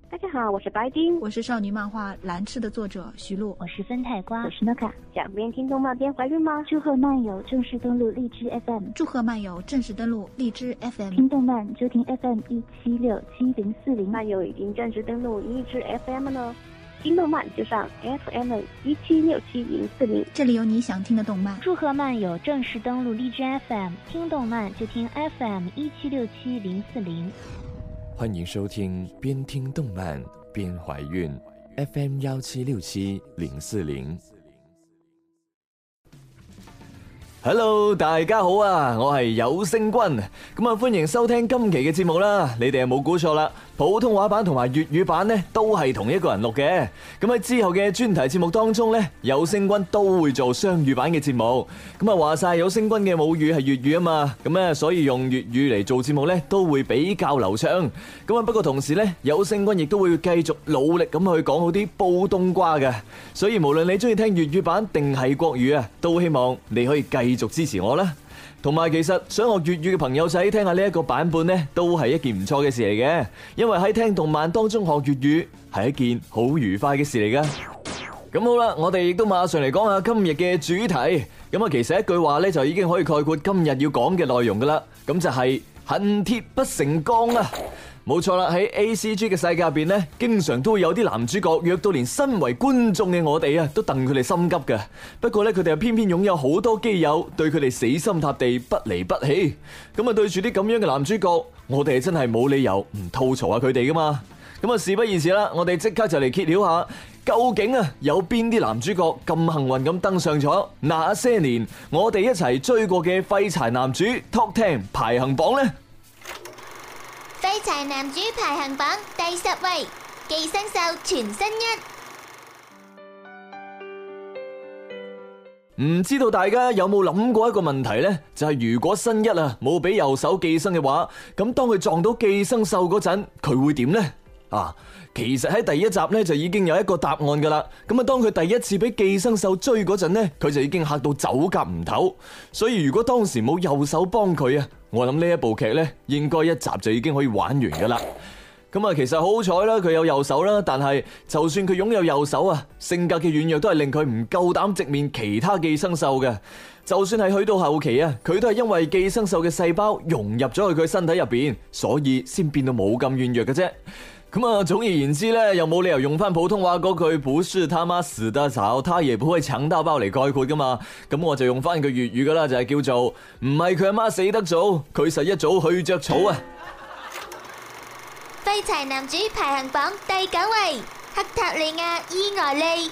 大家好，我是白丁， 我是少女漫画《蓝翅》的作者徐璐， 我是分太瓜， 我是诺卡。 想边听动漫边怀孕吗？ 祝贺漫友正式登录荔枝 FM， 祝贺漫友正式登录荔枝 FM， 听动漫就听 FM176740， 漫友已经正式登录荔枝 FM 了，听动漫就上 FM1767040， 这里有你想听的动漫。 祝贺漫友正式登录荔枝 FM， 听动漫就听 FM1767040。 欢迎收听边听动漫边怀孕 FM1767040。Hello， 大家好啊，我係有聲君，咁啊歡迎收聽今期嘅節目啦。你哋係冇估錯啦，普通話版同埋粵語版呢都係同一個人錄嘅。咁喺之後嘅專題節目當中呢，有聲君都會做雙語版嘅節目。咁啊話晒有聲君嘅母語係粵語啊嘛，咁咧所以用粵語嚟做節目呢都會比較流暢。咁啊不過同時呢，有聲君亦都會繼續努力咁去講好啲煲冬瓜嘅。所以無論你中意聽粵語版定係國語啊，都希望你可以繼續支持我啦。同埋其實想學粵語嘅朋友仔聽下呢一個版本呢，都係一件唔錯嘅事嚟嘅，因為喺聽動漫當中學粵語係一件好愉快嘅事嚟噶。咁好啦，我哋亦都馬上嚟講下今日嘅主題。咁啊，其實一句話呢，就已經可以概括今日要講嘅內容噶啦，咁就係恨鐵不成鋼啊！冇錯啦，喺 ACG 嘅世界入邊呢，經常都會有啲男主角弱到連身為觀眾嘅我哋啊，都戥佢哋心急嘅。不過呢，佢哋又偏偏擁有好多基友對佢哋死心塌地不離不棄。咁啊，對住啲咁樣嘅男主角，我哋真係冇理由唔吐槽下佢哋噶嘛。咁啊，事不宜遲啦，我哋即刻就嚟揭曉下，究竟啊有邊啲男主角咁幸運咁登上咗那些年我哋一齊追過嘅廢柴男主 Top 10排行榜呢？ 廢柴男主排行榜第10位，寄生獸全新一。 唔知道大家有冇諗過一個問題呢？就係如果新一啊冇俾右手寄生嘅話，咁當佢撞到寄生獸嗰陣，佢會點呢？其實喺第一集呢，就已經有一個答案噶啦。咁啊，當佢第一次俾寄生獸追嗰陣呢，佢就已經嚇到走夾唔唞。所以如果當時冇右手幫佢啊，我諗呢一部劇呢，應該一集就已經可以玩完噶啦。咁啊，其實好彩啦，佢有右手啦，但係就算佢擁有右手啊，性格嘅軟弱都係令佢唔夠膽直面其他寄生獸嘅。就算係去到後期啊，佢都係因為寄生獸嘅細胞融入咗去佢身體入邊，所以先變到冇咁軟弱嘅啫。咁啊，總而言之咧，又冇理由用翻普通話嗰句不是他媽死得早，他也不會強到爆嚟概括噶嘛。咁我就用翻句粵語噶啦，就係叫做唔係佢阿媽死得早，佢實一早去着草啊！ 廢柴男主排行榜第9位，克塔利亞伊萊莉。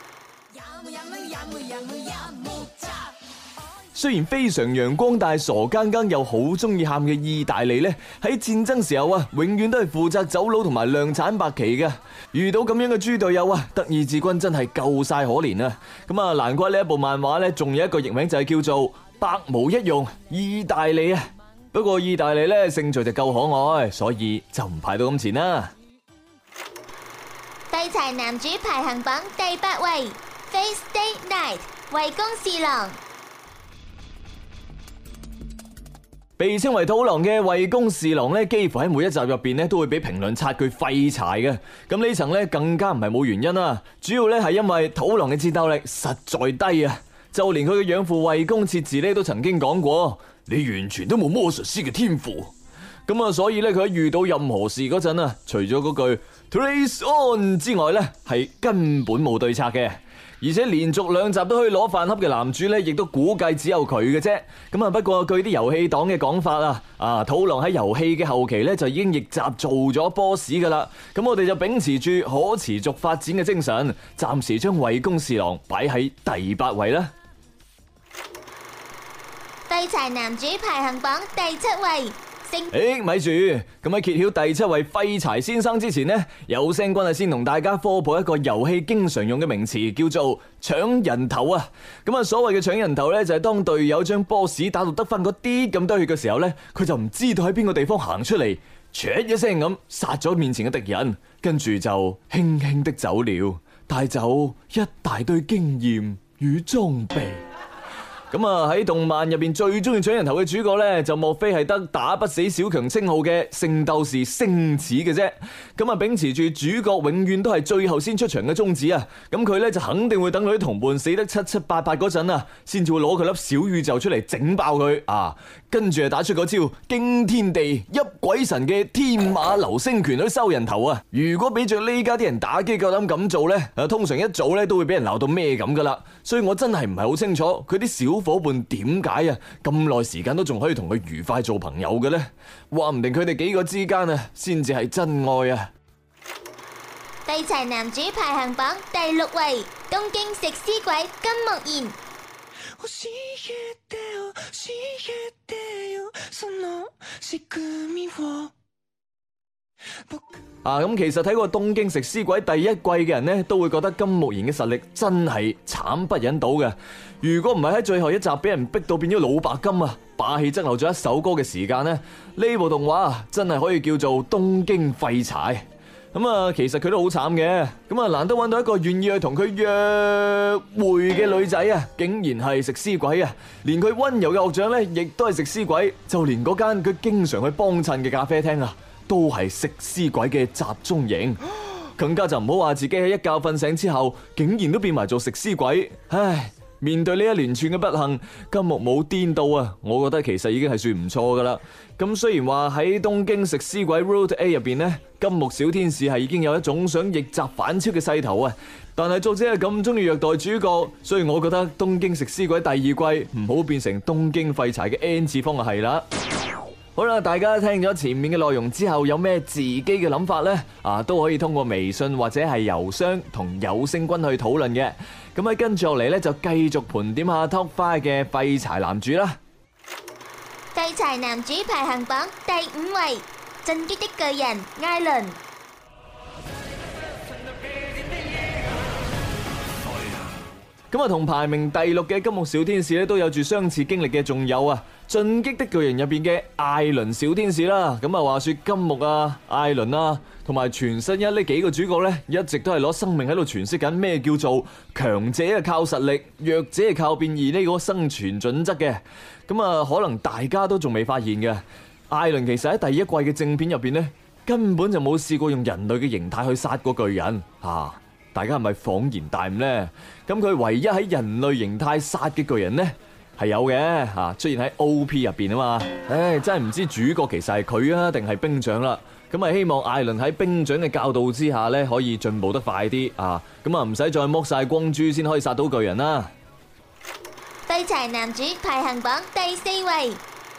雖然非常陽光，但係傻更更又好中意喊嘅意大利呢，喺戰爭時候啊，永遠都係負責走佬同埋量產白旗嘅。遇到咁樣嘅豬隊友啊，德意志軍真係夠晒可憐啊！咁啊，難怪呢一部漫畫呢，仲有一個譯名就係叫做百無一用意大利啊。不過意大利呢，勝在就夠可愛，所以就唔排到咁前啦。 廢柴男主排行榜第8位， Fate Stay Night 衛宮侍郎。 被稱為土狼嘅衛宮侍郎咧，幾乎喺每一集入邊咧都會俾評論刷佢廢柴嘅。咁呢層咧更加唔係冇原因啦，主要咧係因為土狼嘅戰鬥力實在低啊！就連佢嘅養父衛宮切嗣咧都曾經講過，你完全都冇魔術師嘅天賦。咁啊，所以咧佢喺遇到任何事嗰陣啊，除咗嗰句 Trace On 之外咧，係根本冇對策嘅。而且連續2集都可以攞飯盒嘅男主咧，亦都估計只有佢嘅啫。咁啊，不過據啲遊戲黨嘅講法啊，土狼喺遊戲嘅後期咧就已經逆襲做咗 boss 噶啦。咁我哋就秉持住可持續發展嘅精神，暫時將衛宮侍郎擺喺第8位啦。 廢柴男主排行榜第7位。 咪住，咁喺揭曉第7位廢柴先生之前呢，有聲君先同大家科普一個遊戲經常用嘅名詞，叫做搶人頭啊！咁啊，所謂嘅搶人頭呢，就係當隊友將 boss 打到得翻嗰啲咁多血嘅時候呢，佢就唔知道喺邊個地方行出嚟，唰一聲咁殺咗面前嘅敵人，跟住就輕輕的走了，帶走一大堆經驗與裝備。 咁啊喺動漫入邊最中意搶人頭嘅主角呢，就莫非係得打不死小強稱號嘅聖鬥士星矢嘅啫。咁啊秉持住主角永遠都係最後先出場嘅宗旨啊，咁佢呢就肯定會等佢啲同伴死得七七八八嗰陣啊，先至會攞佢粒小宇宙出嚟整爆佢啊，跟住啊打出嗰招驚天地泣鬼神嘅天馬流星拳去收人頭啊。如果俾着呢家啲人打機夠膽咁做呢，通常一早呢都會俾人鬧到咩咁噶啦。所以我真係唔係好清楚佢啲小伙伴點解啊咁耐時間都仲可以同佢愉快做朋友嘅呢？話唔定佢哋幾個之間啊先至係真愛啊！ 廢柴男主排行榜第6位，東京食屍鬼金木研。 咁其實睇過東京食屍鬼第1季嘅人呢，都會覺得金木研嘅實力真係慘不忍睹嘅。如果唔係喺最後一集俾人逼到變咗老白金啊，霸氣側漏咗一首歌嘅時間呢，呢部動畫真係可以叫做東京廢柴。咁啊，其實佢都好慘嘅。咁啊，難得揾到一個願意去同佢約會嘅女仔啊，竟然係食屍鬼啊！連佢溫柔嘅學長呢，亦都係食屍鬼。就連嗰間佢經常去幫襯嘅咖啡廳啊，都係食屍鬼嘅集中營。更加就唔好話自己喺一覺瞓醒之後，竟然都變埋做食屍鬼。唉，面對呢一連串嘅不幸，金木冇癲到啊！我覺得其實已經係算唔錯噶啦。咁雖然話喺東京食屍鬼 Road A 入邊呢，金木小天使係已經有一種想逆襲反超嘅勢頭啊，但係作者係咁中意虐待主角，所以我覺得東京食屍鬼第2季唔好變成東京廢柴嘅 N 次方就係啦。好啦，大家聽咗前面嘅內容之後，有咩自己嘅諗法呢？都可以通過微信或者係郵箱同有聲君去討論嘅。咁喺跟住落嚟呢，就繼續盤點下 Top 5嘅廢柴男主啦。 廢柴男主排行榜第5位，進擊的巨人艾倫。 咁啊，同排名第6嘅金木小天使咧都有住相似經歷嘅，仲有啊進擊的巨人入邊嘅艾倫小天使啦。咁啊，話說金木啊、艾倫啊，同埋全新一呢幾個主角呢，一直都係攞生命喺度詮釋緊咩叫做強者係靠實力，弱者係靠變異呢個生存準則嘅。咁啊，可能大家都仲未發現嘅，艾倫其實喺第1季嘅正片入邊呢，根本就冇試過用人類嘅形態去殺過巨人啊！大家係咪恍然大悟呢？咁佢唯一喺人類形態殺嘅巨人呢，係有嘅出現喺 OP 入邊啊嘛。唉，真係唔知主角其實係佢啊，定係兵長啦。咁啊，希望艾倫喺兵長嘅教導之下呢，可以進步得快啲啊。咁啊，唔使再剝晒光珠先可以殺到巨人啦。 廢柴男主排行榜第4位。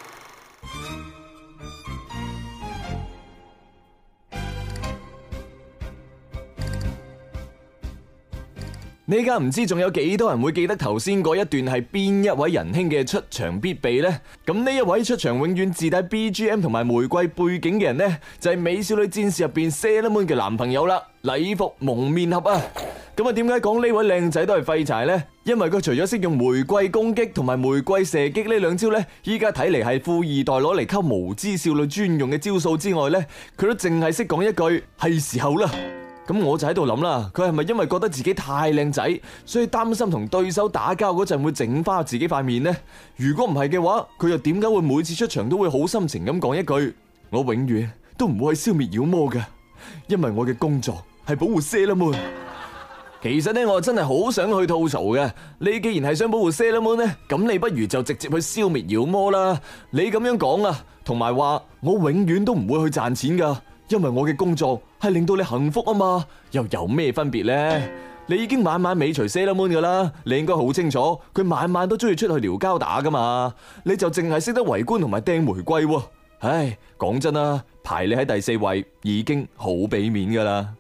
呢家唔知仲有幾多人會記得頭先嗰一段係邊一位仁兄嘅出場必備呢？咁呢一位出場永遠自帶 BGM 同埋玫瑰背景嘅人呢，就係美少女戰士入邊 Sailor Moon 嘅男朋友啦，禮服蒙面俠啊！咁啊，點解講呢位靚仔都係廢柴呢？因為佢除咗識用玫瑰攻擊同埋玫瑰射擊呢2招呢，依家睇嚟係富二代攞嚟溝無知少女專用嘅招數之外呢，佢都淨係識講一句係時候啦。咁我就喺度諗啦，佢係咪因為覺得自己太靚仔，所以擔心同對手打交嗰陣會整花自己塊面呢？如果唔係嘅話，佢又點解會每次出場都會好深情咁講一句：我永遠都唔會去消滅妖魔嘅，因為我嘅工作係保護 Sailor Moon。其實呢，我真係好想去吐槽嘅。你既然係想保護 Sailor Moon呢，咁你不如就直接去消滅妖魔啦。你咁樣講啊，同埋話我永遠都唔會去賺錢噶。因為我嘅工作係令到你幸福啊嘛，又有咩分別呢？你已經晚晚尾隨 Sailor Moon 噶啦，你應該好清楚佢晚晚都中意出去撩交打噶嘛，你就淨係識得圍觀同埋掟玫瑰喎。唉，講真啦，排你喺第4位已經好俾面噶啦。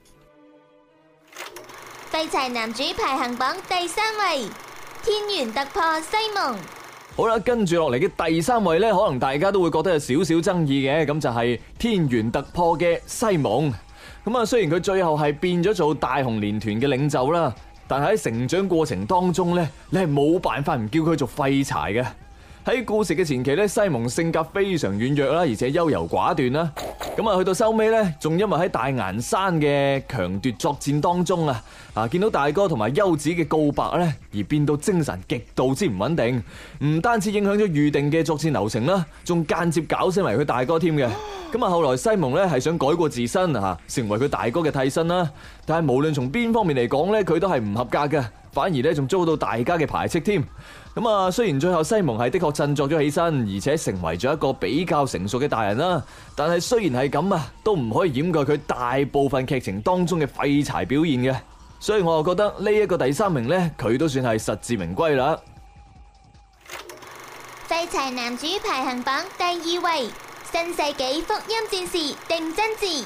廢柴男主排行榜第3位，天元突破西蒙。 好啦，跟住落嚟嘅第3位呢，可能大家都會覺得有少少爭議嘅，咁就係天元突破嘅西蒙。咁啊，雖然佢最後係變咗做大雄連團嘅領袖啦，但係喺成長過程當中呢，你係冇辦法唔叫佢做廢柴嘅。 喺故事嘅前期咧，西蒙性格非常軟弱啦，而且優柔寡斷啦。咁啊，去到收尾咧，仲因為喺大岩山嘅強奪作戰當中啊，見到大哥同埋優子嘅告白咧，而變到精神極度之唔穩定，唔單止影響咗預定嘅作戰流程啦，仲間接搞死埋佢大哥添嘅。咁啊，後來西蒙咧係想改過自身成為佢大哥嘅替身啦，但係無論從邊方面嚟講咧，佢都係唔合格嘅，反而咧仲遭到大家嘅排斥添。咁啊，雖然最後西蒙係的確振作咗起身，而且成為咗一個比較成熟嘅大人啦，但係雖然係咁都唔可以掩蓋佢大部分劇情當中嘅廢柴表現嘅。所以我又覺得呢一個第3名呢，佢都算係實至名歸啦。 廢柴男主排行榜第2位，新世紀福音戰士碇真嗣。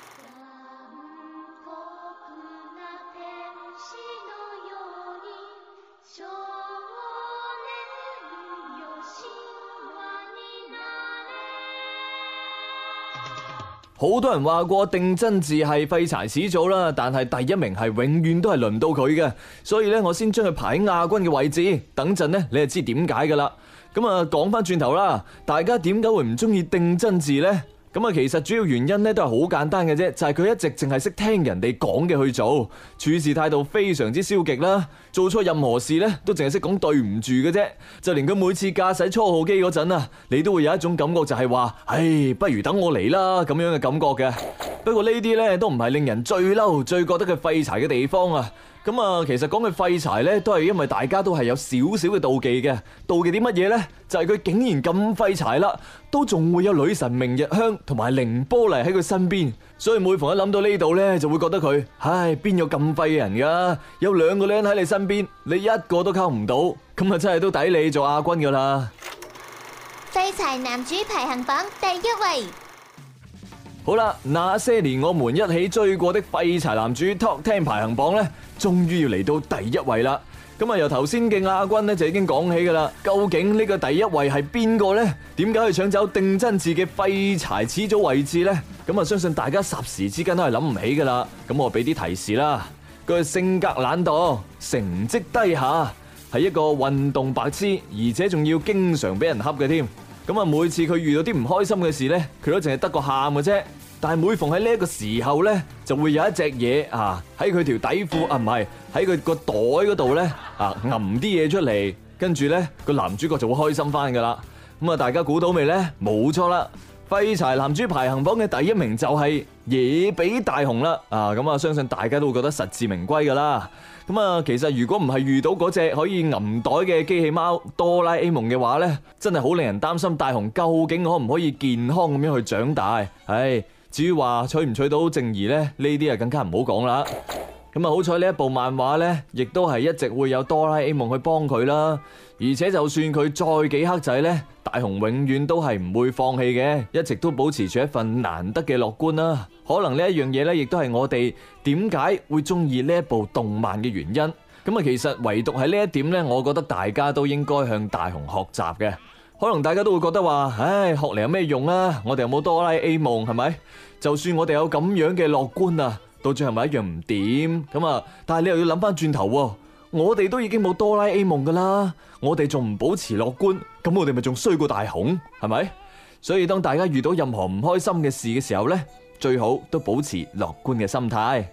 好多人話過碇真嗣係廢柴始祖啦，但係第1名係永遠都係輪唔到佢嘅，所以咧我先將佢排喺亞軍嘅位置。等陣呢，你就知點解噶啦。咁啊，講翻轉頭啦，大家點解會唔中意碇真嗣呢？咁啊，其實主要原因咧都係好簡單嘅啫，就係佢一直淨係識聽人哋講嘅去做，處事態度非常之消極啦，做錯任何事咧都淨係識講對唔住嘅啫，就連佢每次駕駛初號機嗰陣你都會有一種感覺就係話，唉，不如等我嚟啦咁樣嘅感覺嘅。不過呢啲咧都唔係令人最嬲、最覺得佢廢柴嘅地方啊。咁啊，其實講佢廢柴咧，都係因為大家都係有少少嘅妒忌嘅。妒忌啲乜嘢呢？就係佢竟然咁廢柴啦，都仲會有女神明日香同埋凌波麗喺佢身邊。所以每逢一諗到呢度呢，就會覺得佢，唉，邊有咁廢嘅人噶？有2個女人喺你身邊，你一個都溝唔到，咁啊真係都抵你做亞軍噶啦。 廢柴男主排行榜第1位。 好啦，那些年我們一起追過的廢柴男主 Top 10排行榜呢，終於要嚟到第1位啦。咁啊，由頭先嘅亞軍呢就已經講起噶啦。究竟呢個第1位係邊個呢？點解可以搶走碇真嗣嘅廢柴始祖位置呢？咁啊，相信大家霎時之間都係諗唔起噶啦。咁我俾啲提示啦，佢性格懶惰，成績低下，係一個運動白痴，而且仲要經常俾人恰嘅添。咁啊，每次佢遇到啲唔開心嘅事呢，佢都淨係得個喊嘅啫。但係每逢喺呢一個時候呢，就會有一隻嘢喺佢條底褲唔係喺佢個袋嗰度呢揞啲嘢出嚟，跟住呢個男主角就會開心翻噶啦。咁啊，大家估到未呢？冇錯啦，廢柴男主排行榜嘅第1名就係野比大雄啦。咁啊，相信大家都會覺得實至名歸噶啦。咁啊，其實如果唔係遇到嗰隻可以揞袋嘅機器貓哆啦 A 夢嘅話呢，真係好令人擔心大雄究竟可唔可以健康咁樣去長大。至於話娶唔娶到靜兒呢，呢啲更加唔好講啦。咁啊，好彩呢一部漫畫呢，亦都係一直會有哆啦 A 夢去幫佢啦。而且就算佢再幾黑仔呢，大雄永遠都係唔會放棄嘅，一直都保持住一份難得嘅樂觀啦。可能呢一樣嘢呢，亦都係我哋點解會中意呢一部動漫嘅原因。咁啊，其實唯獨喺呢一點呢，我覺得大家都應該向大雄學習嘅。可能大家都會覺得話，唉，學嚟有咩用啊？我哋有冇哆啦 A 夢係咪？就算我哋有咁樣嘅樂觀到最後咪一樣唔掂咁啊！但係你又要諗翻轉頭，我哋都已經冇哆啦 A 夢噶啦，我哋仲唔保持樂觀，咁我哋咪仲衰過大雄係咪？所以當大家遇到任何唔開心嘅事嘅時候呢，最好都保持樂觀嘅心態。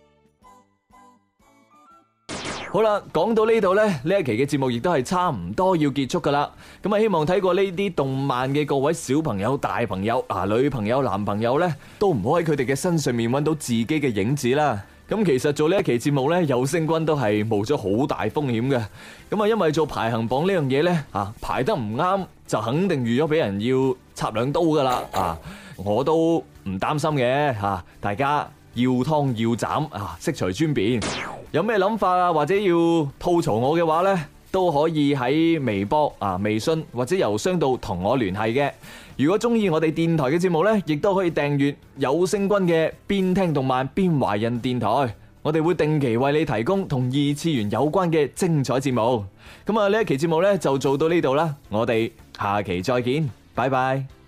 好啦，講到呢度呢，呢一期嘅節目亦都係差唔多要結束噶啦。咁啊，希望睇過呢啲動漫嘅各位小朋友、大朋友、女朋友、男朋友呢，都唔好喺佢哋嘅身上面揾到自己嘅影子啦。咁其實做呢一期節目呢，有聲君都係冒咗好大風險嘅。咁啊，因為做排行榜呢樣嘢呢，排得唔啱就肯定預咗俾人要插2刀噶啦。我都唔擔心嘅大家要劏要斬悉隨尊便。有咩諗法或者要吐槽我嘅話呢，都可以喺微博微信或者郵箱度同我聯繫嘅。如果中意我哋電台嘅節目呢，亦都可以訂閱有聲君嘅邊聽動漫邊懷孕電台。我哋會定期為你提供同2次元有關嘅精彩節目。咁啊，呢一期節目呢就做到呢度啦，我哋下期再見，拜拜。